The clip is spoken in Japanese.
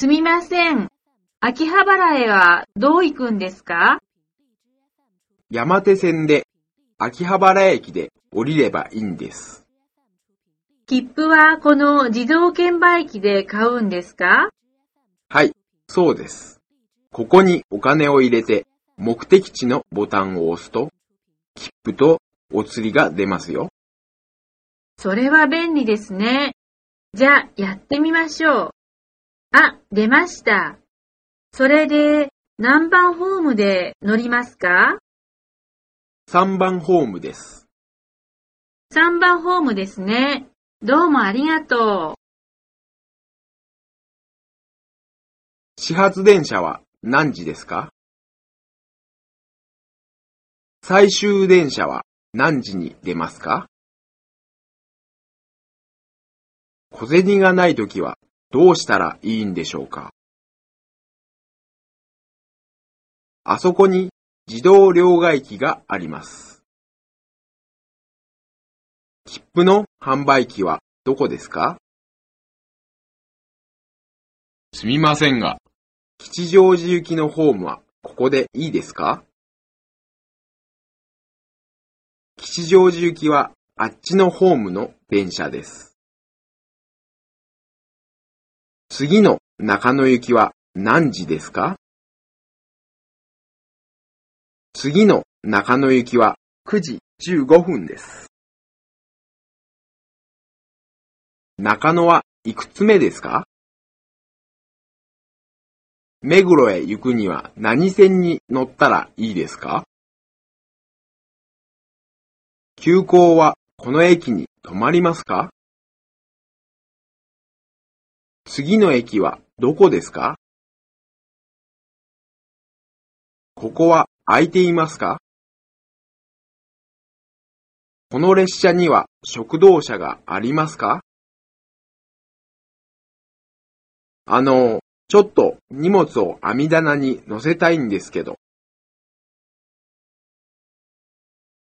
すみません。秋葉原へはどう行くんですか？ 山手線で秋葉原駅で降りればいいんです。 切符はこの自動券売機で買うんですか？ はい、そうです。ここにお金を入れて目的地のボタンを押すと、切符とお釣りが出ますよ。 それは便利ですね。じゃあやってみましょう。あ、出ました。それで何番ホームで乗りますか 3番ホームです。 ？3番ホームですね。どうもありがとう。 始発電車は何時ですか？最終電車は何時に出ますか？小銭がないときはどうしたらいいんでしょうか？あそこに自動両替機があります。切符の販売機はどこですか？ すみませんが、 吉祥寺行きのホームはここでいいですか？吉祥寺行きはあっちのホームの電車です。次の中野行きは何時ですか？次の中野行きは9時15分です。中野はいくつ目ですか？目黒へ行くには何線に乗ったらいいですか？急行はこの駅に止まりますか？次の駅はどこですか？ここは空いていますか？この列車には食堂車がありますか？ちょっと荷物を網棚に乗せたいんですけど、